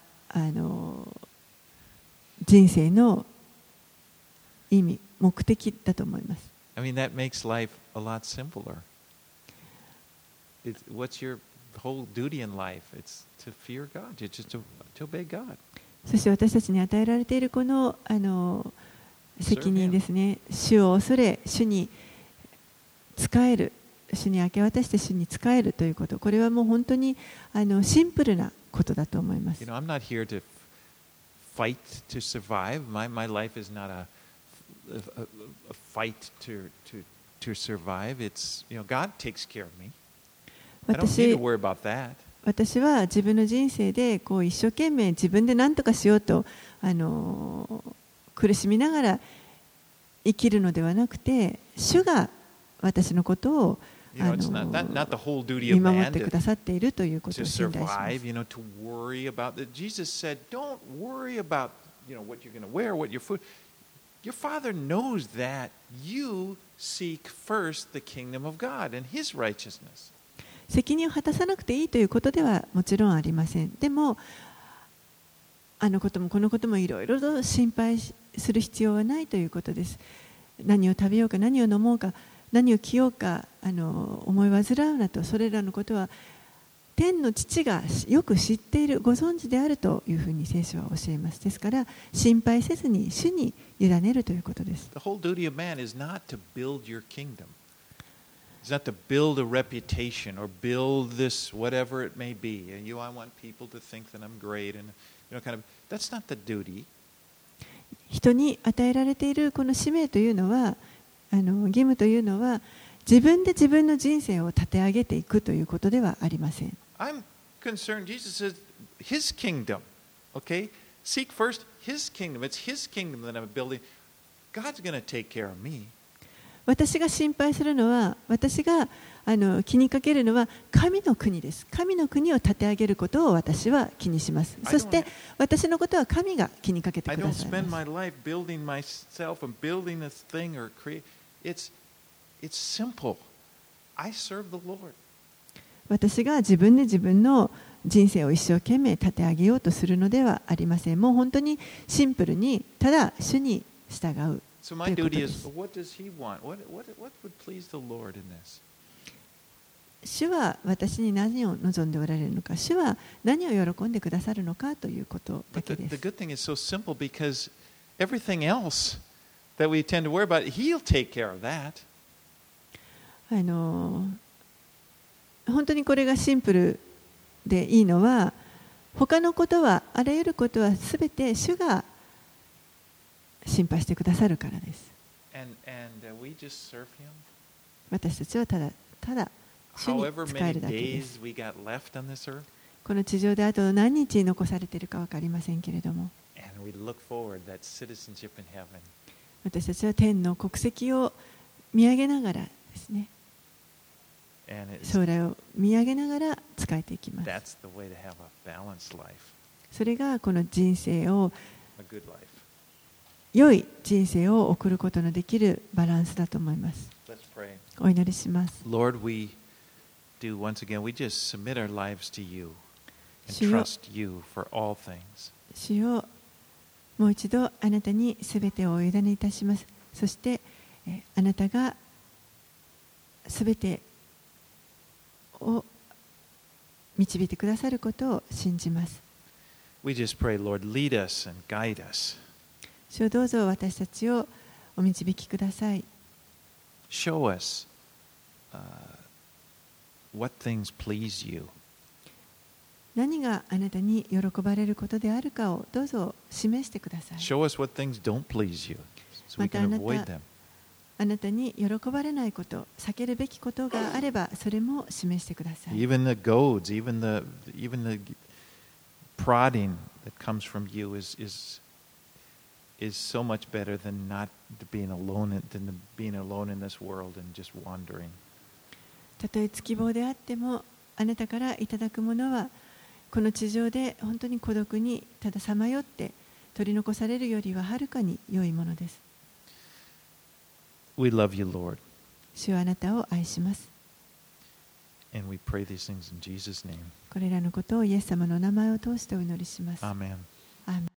人生の意味、目的だと思います。 I mean, that makes life a lot simpler. What's your whole duty in life? It's to fear God. It's just to obey God. そして私たちに与えられているこの責任ですね。主を恐れ、主に仕える、主に明け渡して主に仕えるということ。これはもう本当にシンプルなことだと思います。 I'm not here to fight to survive. My life is not a fight to survive. It's God takes care of me. 私は自分の人生で一生懸命自分で何とかしようと苦しみながら生きるのではなくて、主が私のことを見守ってくださっているということを信頼します。 Jesus said, "Don't worry about what you're going to wear, what your food. Your Father knows that you seek first the kingdom of God and His righteousness." 責任を果たさなくていいということではもちろんありません。でも、あのこともこのこともいろいろと心配する必要はないということです。何を食べようか、何を飲もうか、何を着ようか思い煩うなと、それらのことは天の父がよく知っている、ご存知であるというふうに聖書は教えます。ですから心配せずに主に委ねるということです。 The whole duty of man is not to build your kingdom. It's not to build a reputation or build this whatever it may be. I want people to think that I'm great and kind of that's not the duty. 人に与えられているこの使命というのは、義務というのは自分で自分の人生を立て上げていくということではありません。 I'm concerned. Jesus says His kingdom. Okay, seek first His kingdom. It's His kingdom that I'm building. God's going to take care of me. 私が心配するのは、私が気にかけるのは神の国です。神の国を立て上げることを私は気にします。そして私のことは神が気にかけてくださいます。 I don't spend my life building myself and building this thing or create. It's simple. I serve the Lord. 私が自分で自分の人生を一生懸命立て上げようとするのではありません。もう本当にシンプルにただ主に従う。 So my duty is, what does He want? What would please the Lord in this? 主は私に何を望んでおられるのか、主は何を喜んでくださるのかということだけです。 The good thing is so simple because everything else that we tend to worry about, He'll take care of that. 本当にこれがシンプルでいいのは、他のことは、あらゆることはすべて主が心配してくださるからです。 We just serve Him. 私たちはただ主に仕えるだけです。この地上であと何日残されているか分かりませんけれども、私たちは天の国籍を見上げながらですね、将来を見上げながら仕えていきます。それがこの人生を、良い人生を送ることのできるバランスだと思います。お祈りします。 Lord, we once again, we just submit our lives to You and trust You for all things. 主よ、もう一度あなたにすべてをお委ねいたします。そしてあなたがすべてを導いてくださることを信じます。 We just pray, Lord, lead us and guide us. 主よ、どうぞ私たちをお導きください。 Show us what things please You. 何があなたに喜ばれることであるかをどうぞ示してください。 Show us what things don't please You, so we can avoid them. あなたに喜ばれないこと、避けるべきことがあれば、それも示してください。 Even the goads, even the prodding that comes from You is so much better than not being alone in this world and just wandering. たとえ月棒であっても、あなたからいただくものはこの地上で本当に孤独にたださまよって取り残されるよりははるかに良いものです。 We love You, Lord. 主はあなたを愛します。 And we pray these things in Jesus' name. これらのことをイエス様の名前を通してお祈りします。 Amen. アーメン。